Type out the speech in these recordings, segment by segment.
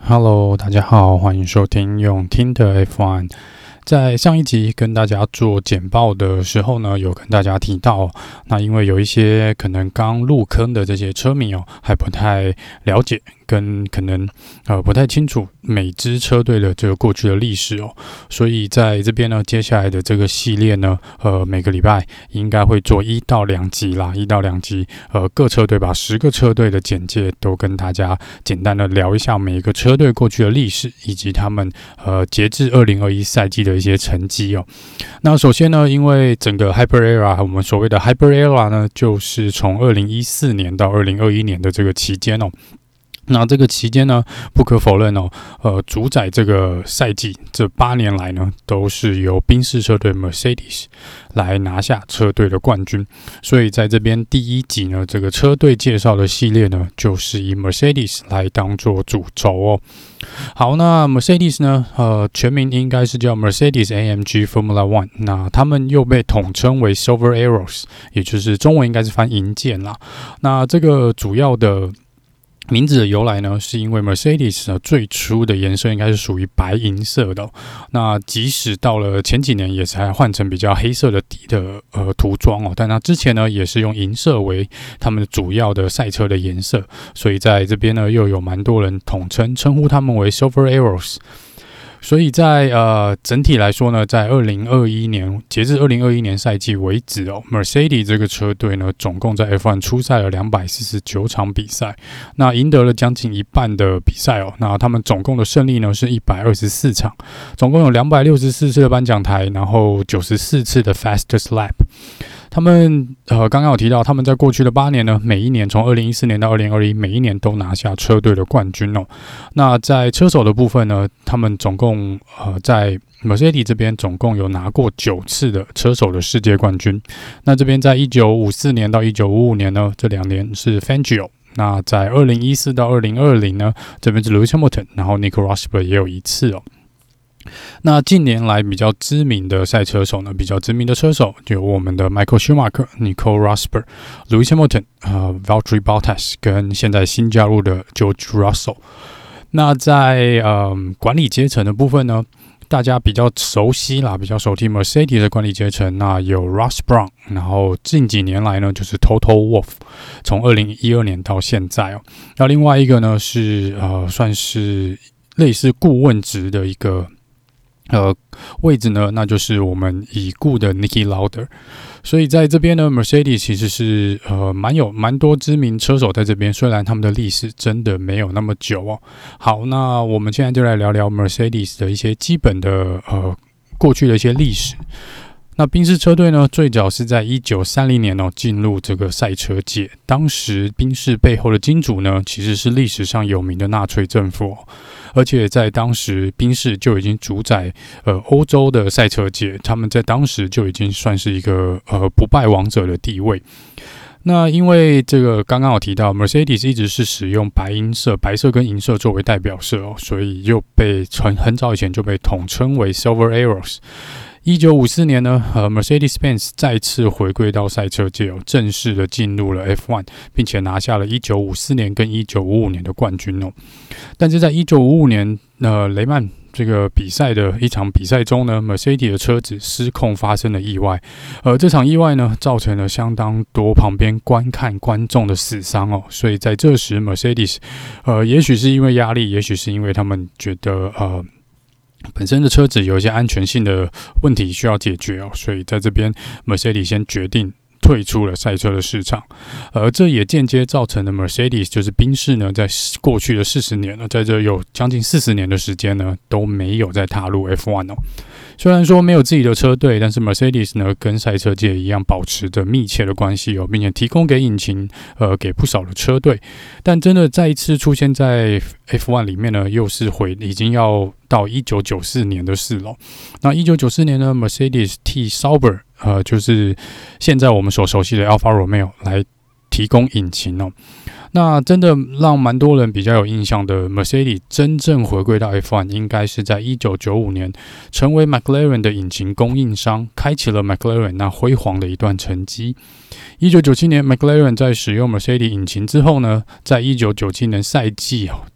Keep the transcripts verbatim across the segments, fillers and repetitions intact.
Hello， 大家好，歡迎收聽用聽的 F 一。在上一集跟大家做簡報的時候呢，有跟大家提到，那因為有一些可能剛入坑的這些車迷哦，還不太了解，跟可能呃不太清楚每支車隊的這個過去的歷史哦，所以在這邊呢，接下來的這個系列呢，呃每個禮拜應該會做一到兩集啦，一到兩集，呃各車隊把十個車隊的簡介都跟大家簡單的聊一下每一個車隊過去的歷史，以及他們呃截至二零二一賽季的一些成績哦。那首先呢，因為整個 Hyper Era， 我們所謂的 Hyper Era 呢，就是從二零一四年到二零二一年的這個期間哦。那這個期間呢，不可否認哦，呃，主宰這個賽季這八年來呢，都是由賓士車隊 Mercedes 來拿下車隊的冠軍。所以在這邊第一集呢，這個車隊介紹的系列呢，就是以 Mercedes 來當做主軸哦。好，那 Mercedes 呢，呃，全名應該是叫 Mercedes A M G Formula One， 那他們又被統稱為 Silver Arrows， 也就是中文應該是翻銀箭啦。那這個主要的名字的由來呢，是因為 Mercedes 呢最初的顏色應該是屬於白銀色的、哦，那即使到了前幾年也才換成比較黑色的底的呃塗裝哦，但那之前呢也是用銀色為他們主要的賽車的顏色，所以在這邊呢又有蠻多人統稱稱呼他們為 Silver Arrows。所以在呃整體來說呢，在二零二一年截至二零二一年賽季為止哦 ，Mercedes 這個車隊呢，總共在 F 一 出賽了兩百四十九場比賽，那贏得了將近一半的比賽哦。那他們總共的勝利呢是一百二十四場，總共有兩百六十四次的頒獎台，然後九十四次的 Fastest Lap。他們呃剛剛有提到，他們在過去的八年呢，每一年從二零一四年到二零二一，每一年都拿下車隊的冠軍哦。那在車手的部分呢，他們總共呃在 Mercedes 這邊總共有拿過九次的車手的世界冠軍。那這邊在一九五四年到一九五五年呢，這兩年是 Fangio。那在二零一四到二零二零呢，這邊是 Lewis Hamilton， 然後 Nico Rosberg 也有一次哦。那近年來比較知名的賽車手呢，比較知名的車手就有我們的 Michael Schumacher、Nico Rosberg、Lewis Hamilton、呃 Valtteri Bottas 跟現在新加入的 George Russell。那在呃管理階層的部分呢，大家比較熟悉啦，比較熟悉 Mercedes 的管理階層，那有 Ross Brown， 然後近幾年來呢就是 Toto Wolff， 從二零一二年到現在哦。那另外一個呢是呃算是類似顧問職的一個。呃，位置呢，那就是我們已故的 Niki Lauda。所以在這邊呢 ，Mercedes 其實是呃蠻有蠻多知名車手在這邊，雖然他們的歷史真的沒有那麼久哦。好，那我們現在就來聊聊 Mercedes 的一些基本的呃過去的一些歷史。那賓士車隊呢，最早是在一九三零年哦進入這個賽車界。當時賓士背後的金主呢，其實是歷史上有名的納粹政府哦，而且在當時賓士就已經主宰呃歐洲的賽車界，他們在當時就已經算是一個呃不敗王者的地位。那因為這個剛剛有提到 ，Mercedes 一直是使用白銀色、白色跟銀色作為代表色哦，所以又被很很早以前就被統稱為 Silver Arrows。一九五四年呢，呃 ，Mercedes-Benz 再次回歸到賽車界哦，正式的進入了 F 一， 並且拿下了一九五四年跟一九五五年的冠軍哦。但是在一九五五年，呃，雷曼這個比賽的一場比賽中呢 ，Mercedes 的車子失控發生了意外，呃，這場意外呢，造成了相當多旁邊觀看觀眾的死傷哦。所以在這時 ，Mercedes， 呃，也許是因為壓力，也許是因為他們覺得呃。本身的車子有一些安全性的問題需要解決哦，所以在這邊 Mercedes 先決定退出了賽車的市場，而這也間接造成了 Mercedes 就是賓士呢，在過去的四十年呢，在這有將近四十年的時間呢，都沒有再踏入 F 一 哦。雖然說沒有自己的車隊，但是 Mercedes 呢跟賽車界一樣保持着密切的關係哦，並且提供給引擎呃給不少的車隊。但真的再一次出現在 F 一 裡面呢，又是回已經要到一九九四年的事了。那一九九四年呢 ，Mercedes 替 Sauber 呃就是現在我們所熟悉的 Alfa Romeo 來提供引擎哦。那真的讓蠻多人比較有印象的 Mercedes 真正回歸到 F 一， 應該是在一九九五年成為 McLaren 的引擎供應商，開啟了 McLaren 那輝煌的一段成績。一九九七年 McLaren 在使用 Mercedes 引擎之後呢，在一九九七年賽季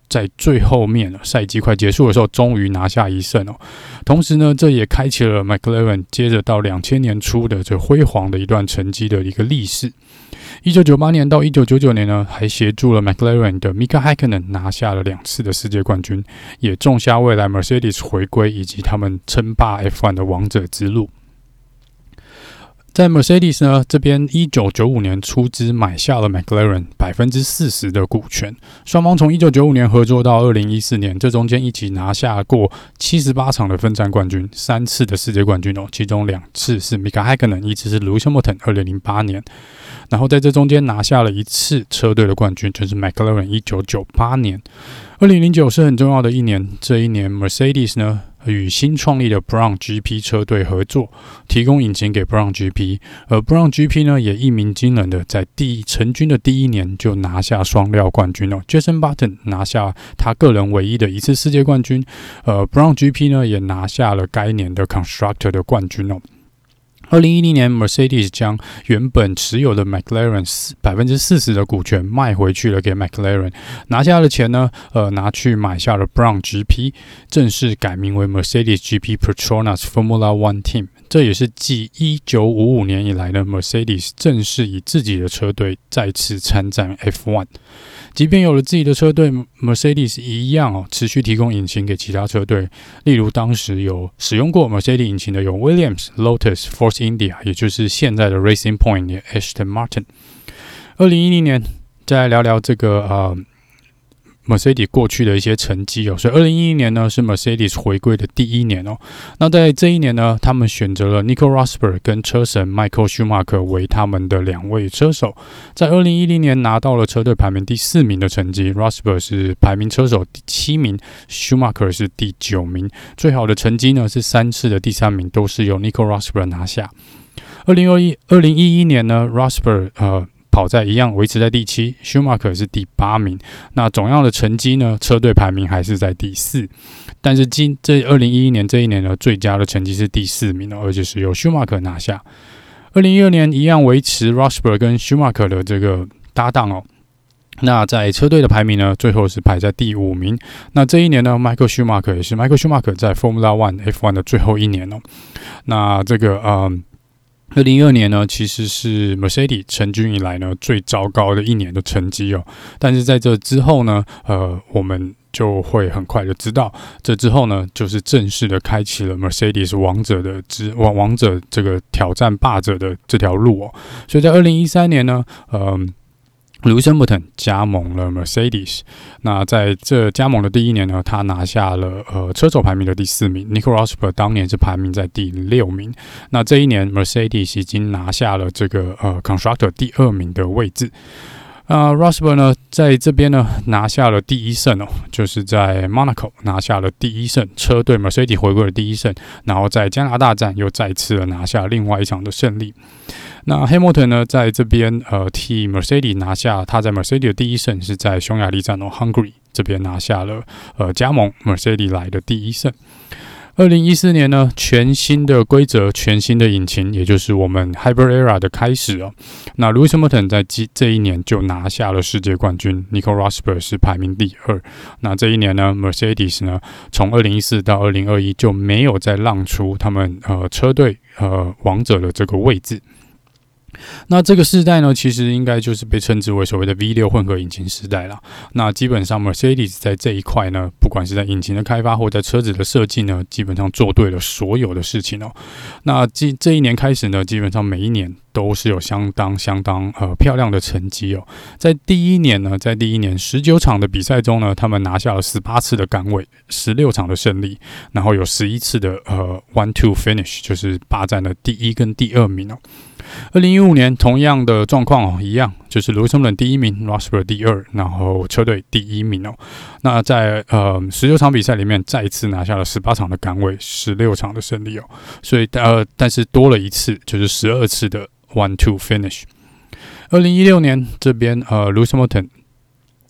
在最後面賽季快結束的時候，終於拿下一勝哦。同時呢，這也開啟了 McLaren 接着到兩千年初的這輝煌的一段成績的一個歷史。一九九八年到一九九九年呢，還協助了 McLaren 的 Mika Häkkinen 拿下了兩次的世界冠軍，也種下未來 Mercedes 回歸以及他們稱霸 F 一 的王者之路。在 Mercedes 呢這邊，一九九五年出資買下了 McLaren 百分之四十的股權，雙方從一九九五年合作到二零一四年，這中間一起拿下過七十八場的分站冠軍，三次的世界冠軍哦，其中兩次是 Mika Häkkinen， 一次是 Lewis Hamilton， 二零零八年，然後在這中間拿下了一次車隊的冠軍，就是 McLaren 一九九八年。二零零九是很重要的一年，這一年 Mercedes 呢與新創立的 Brown G P 車隊合作，提供引擎給 Brown G P， 而 Brown G P 呢也一鳴驚人的在第成軍的第一年就拿下雙料冠軍哦 ，Jenson Button 拿下他個人唯一的一次世界冠軍，呃 Brown G P 呢也拿下了該年的 Constructor 的冠軍哦。二零一零年 ，Mercedes 將原本持有的 McLaren 百分之四十的股權賣回去了給 McLaren， 拿下的錢呢，呃，拿去買下了 Brown G P， 正式改名為 Mercedes G P Petronas Formula One Team。這也是繼一九五五年以來的 Mercedes 正式以自己的車隊再次參戰 F 一。即便有了自己的車隊 ，Mercedes 一樣哦，持續提供引擎給其他車隊。例如，當時有使用過 Mercedes 引擎的有 Williams、Lotus、Force India， 也就是現在的 Racing Point 的 Aston Martin。二零一零年，再來聊聊這個呃。Mercedes 過去的一些成績哦，所以二零一一年呢是 Mercedes 回歸的第一年哦。那在這一年呢，他們選擇了 Nico Rosberg 跟車神 Michael Schumacher 為他們的兩位車手。在二零一零年拿到了車隊排名第四名的成績 ，Rosberg 是排名車手第七名 ，Schumacher 是第九名。最好的成績呢是三次的第三名，都是由 Nico Rosberg 拿下。二零二一二零一一年呢 ，Rosberg 呃。跑在一樣維持在第七 ，Schumacher 是第八名。那總樣的成績呢？車隊排名還是在第四。但是今這二零一一年這一年呢，最佳的成績是第四名哦，而且是由 Schumacher 拿下。二零一二年一樣維持 Rosberg 跟 Schumacher 的這個搭檔哦。那在車隊的排名呢，最後是排在第五名。那這一年呢 ，Michael Schumacher 也是 Michael Schumacher 在 Formula One F 一 的最後一年哦。那這個嗯。二零一二年呢，其實是 Mercedes 成軍以來呢最糟糕的一年的成績哦。但是在這之後呢，呃，我們就會很快的知道，這之後呢，就是正式的開啟了 Mercedes 王者的之王王者這個挑戰霸者的這條路哦。所以在二零一三年呢，呃。Lewis Hamilton 加盟了 Mercedes， 那在這加盟的第一年呢，他拿下了呃車手排名的第四名 ，Nico Rosberg 當年是排名在第六名。那這一年 Mercedes 已經拿下了這個呃 Constructor 第二名的位置。呃 Rosberg 呢，在這邊呢拿下了第一勝哦，就是在 Monaco 拿下了第一勝，車隊 Mercedes 回歸的第一勝，然後在加拿大站又再次的拿下另外一場的勝利。那 Hamilton 呢，在這邊呃替 Mercedes 拿下他在 Mercedes 的第一勝，是在匈牙利站哦 Hungary 這邊拿下了呃加盟 Mercedes 來的第一勝。二零一四年呢，全新的規則，全新的引擎，也就是我們 Hybrid Era 的開始哦。那 Lewis Hamilton 在這一年就拿下了世界冠軍 ，Nico Rosberg 是排名第二。那這一年呢 ，Mercedes 呢，從二零一四到二零二一就沒有再讓出他們呃車隊呃王者的這個位置。那這個世代呢，其實應該就是被稱之為所謂的 V 六 混合引擎時代啦。那基本上 Mercedes 在這一塊呢，不管是在引擎的開發或在車子的設計呢，基本上做對了所有的事情哦。那這這一年開始呢，基本上每一年都是有相當相當呃漂亮的成績哦。在第一年呢，在第一年十九場的比賽中呢，他們拿下了十八次的桿位，十六場的勝利，然後有十一次的呃 one two finish， 就是霸佔了第一跟第二名哦。二零一五年同樣的狀況哦，一樣就是 Lewis Hamilton 第一名 ，Rosberg 第二，然後車隊第一名哦。那在呃十九場比賽裡面，再一次拿下了十八場的桿位，十六場的勝利哦。所以呃，但是多了一次，就是十二次的 one two finish。二零一六年這邊呃 Lewis Hamilton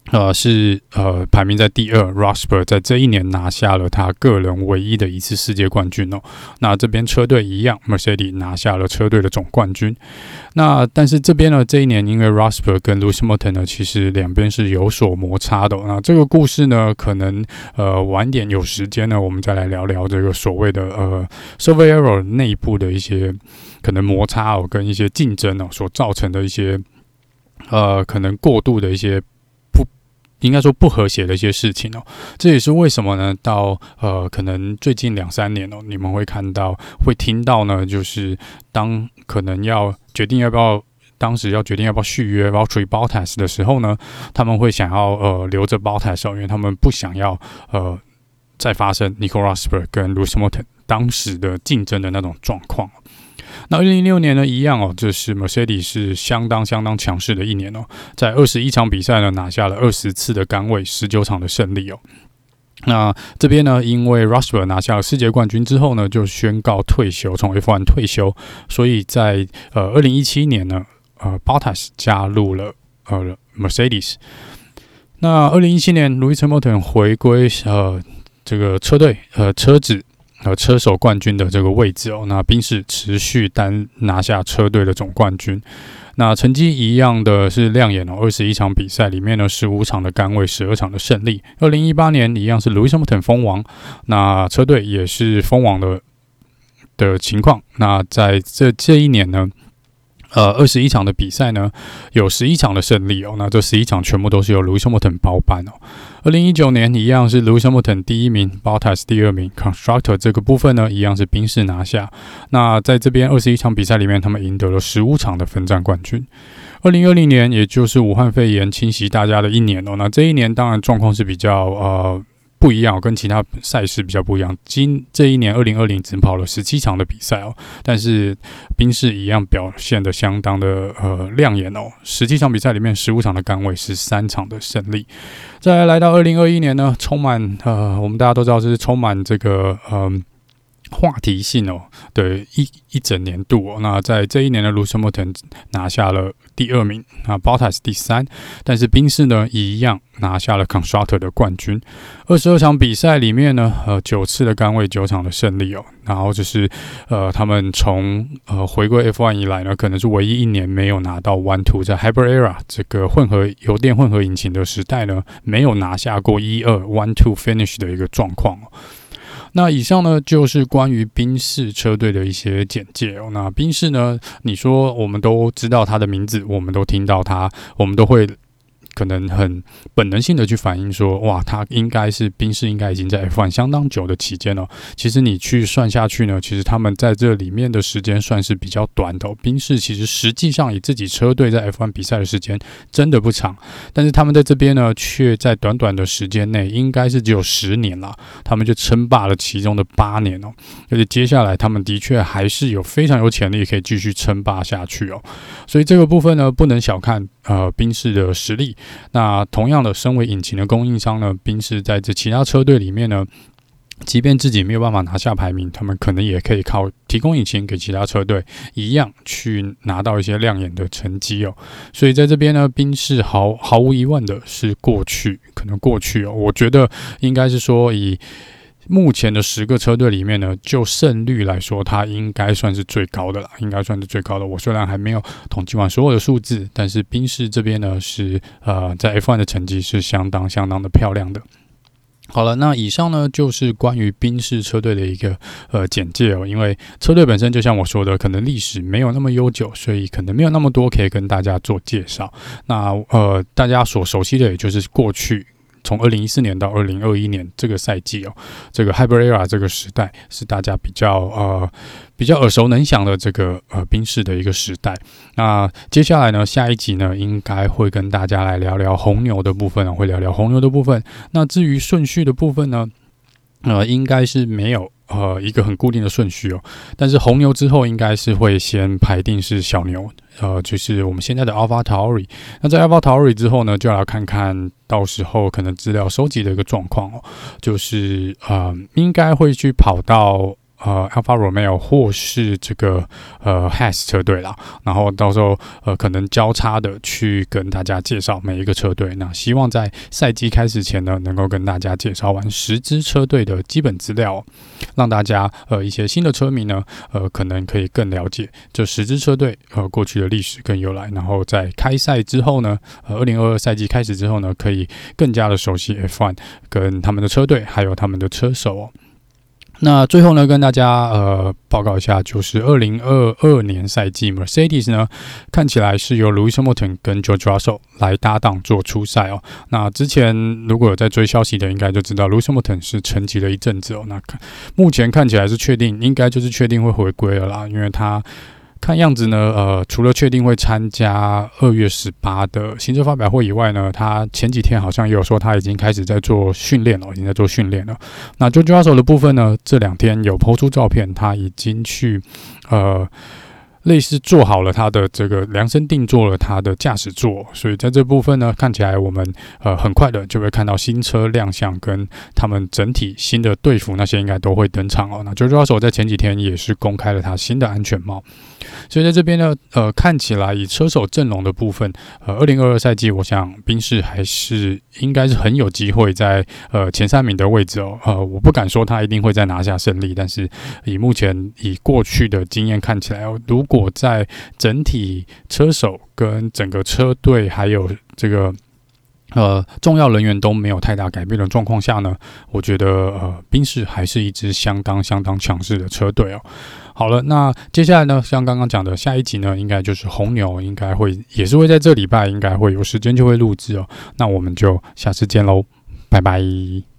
呃，是呃排名在第二 ，Rosberg 在這一年拿下了他個人唯一的一次世界冠軍哦。那這邊車隊一樣 ，Mercedes 拿下了車隊的總冠軍。那但是這邊呢，這一年因為 Rosberg 跟 Lewis Hamilton 呢，其實兩邊是有所摩擦的哦。那這個故事呢，可能呃晚點有時間呢，我們再來聊聊這個所謂的呃 Software Error 內部的一些可能摩擦哦，跟一些競爭哦所造成的一些呃可能過度的一些。應該說不和諧的一些事情哦，這也是為什麼呢？到呃，可能最近兩三年哦，你們會看到、會聽到呢，就是當可能要決定要不要，當時要決定要不要續約 Valtteri Bottas 的時候呢，他們會想要呃留着 Bottas 哦，因為他們不想要呃再發生 Nico Rosberg 跟 Lewis Hamilton 當時的競爭的那種狀況。那二零一六年呢，一樣哦，這是 Mercedes 是相當相當強勢的一年哦，在二十一場比賽呢，拿下了二十次的桿位，十九場的勝利哦。那這邊呢，因為 Rosberg 拿下了世界冠軍之後呢，就宣告退休，從 F 一 退休，所以在呃二零一七年呢，呃 Bottas 加入了呃 Mercedes。那二零一七年 Lewis Hamilton 回歸呃這個車隊呃車子。呃，車手冠軍的這個位置哦，那賓士持續單拿下車隊的總冠軍。那成績一樣的是亮眼哦，二十一場比賽裡面呢，十五場的桿位，十二場的勝利。二零一八年一樣是 Lewis Hamilton 封王，那車隊也是封王的的情況。那在這這一年呢，呃，二十一場的比賽呢，有十一場的勝利哦。那這十一場全部都是由 Lewis Hamilton 包辦哦。二零一九年一樣是 Lewis Hamilton 第一名 ，Bottas 第二名 ，Constructor 這個部分呢，一樣是賓士拿下。那在這邊二十一場比賽裡面，他們贏得了十五場的分站冠軍。二零二零年，也就是武漢肺炎侵襲大家的一年哦。那這一年當然狀況是比較呃。不一樣，跟其他賽事比較不一樣。今這一年二零二零只跑了十七場的比賽哦，但是賓士一樣表現得相當的呃亮眼哦。十七場比賽裡面，十五場的桿位，十三場的勝利。再來來到二零二一年呢，充滿呃，我們大家都知道這是充滿這個呃。話題性哦的一一整年度哦，那在這一年的 Lewis Hamilton 拿下了第二名，那 Bottas 第三，但是賓士呢一樣拿下了 Constructor 的冠軍。二十二場比賽裡面呢，呃，九次的桿位，九場的勝利哦。然後就是呃，他們從呃回歸 F 一 以來呢，可能是唯一一年沒有拿到 one two， 在 Hybrid Era 這個混合油電混合引擎的時代呢，沒有拿下過一二 one two finish 的一個狀況哦。那以上呢，就是關於賓士車隊的一些簡介哦。那賓士呢，你說我們都知道他的名字，我們都聽到他，我們都會可能很本能性的去反映說，哇，他應該是賓士，應該已經在 F 一 相當久的期間了。其實你去算下去呢，其實他們在這裡面的時間算是比較短的哦。賓士其實實際上以自己車隊在 F 一 比賽的時間真的不長，但是他們在這邊呢，卻在短短的時間內，應該是只有十年了，他們就稱霸了其中的八年哦。而且接下來他們的確還是有非常有潛力可以繼續稱霸下去哦。所以這個部分呢，不能小看呃賓士的實力。那同樣的，身為引擎的供應商呢，賓士在這其他車隊裡面呢，即便自己沒有辦法拿下排名，他們可能也可以靠提供引擎給其他車隊，一樣去拿到一些亮眼的成績哦。所以在這邊呢，賓士毫毫無疑問的是過去，可能過去哦，我覺得應該是說以。目前的十個車隊裡面呢，就勝率來說，它應該算是最高的啦，應該算是最高的。我雖然還沒有統計完所有的數字，但是賓士這邊呢是呃在 F 一 的成績是相當相當的漂亮的。好了，那以上呢就是關於賓士車隊的一個呃簡介哦。因為車隊本身就像我說的，可能歷史沒有那麼悠久，所以可能沒有那麼多可以跟大家做介紹。那呃大家所熟悉的也就是過去。從二零一四年到二零二一年這個賽季哦，這個 Hybrid Era 這個時代是大家比較呃比較耳熟能詳的這個呃賓士的一個時代。那接下來呢，下一集呢應該會跟大家來聊聊紅牛的部分，會聊聊紅牛的部分。那至於順序的部分呢，呃，應該是沒有。呃，一個很固定的順序哦，但是紅牛之後應該是會先排定是小牛，呃，就是我們現在的 AlphaTauri。那在 AlphaTauri 之後呢，就要來看看到時候可能資料收集的一個狀況哦，就是呃，應該會去跑到呃 Alfa Romeo 或是這個呃 Haas 車隊啦，然後到時候呃可能交叉的去跟大家介紹每一個車隊。那希望在賽季開始前呢，能夠跟大家介紹完十支車隊的基本資料，讓大家呃一些新的車迷呢呃可能可以更了解這十支車隊呃過去的歷史跟由來，然後在開賽之後呢，呃二零二二賽季開始之後呢，可以更加的熟悉 F 一 跟他們的車隊還有他們的車手哦。那最後呢，跟大家呃報告一下，就是二零二二年賽季 Mercedes 呢，看起來是由 Lewis Hamilton 跟 George Russell 來搭檔做出賽哦。那之前如果有在追消息的，應該就知道 Lewis Hamilton 是沉寂了一陣子哦。那目前看起來是確定，應該就是確定會回歸了啦，因為他看樣子呢，呃，除了確定會參加二月十八的新車發表會以外呢，他前幾天好像也有說他已經開始在做訓練了，已經在做訓練了。那 George Russell 的部分呢，這兩天有 po 出照片，他已經去呃。類似做好了他的這個量身定做了他的駕駛座，所以在這部分呢，看起來我們呃很快的就會看到新車亮相，跟他們整體新的隊服那些應該都會登場哦。那 George Russell 在前幾天也是公開了他新的安全帽，所以在這邊呢，呃，看起來以車手陣容的部分，呃，二零二二賽季，我想賓士還是應該是很有機會在呃前三名的位置哦。呃，我不敢說他一定會再拿下勝利，但是以目前以過去的經驗看起來哦，如果我在整體車手跟整個車隊還有這個呃重要人員都沒有太大改變的狀況下呢，我覺得呃賓士還是一支相當相當強勢的車隊哦。好了，那接下來呢，像剛剛講的下一集呢，應該就是紅牛，應該會也是會在這禮拜應該會有時間就會錄製哦。那我們就下次見嘍，拜拜。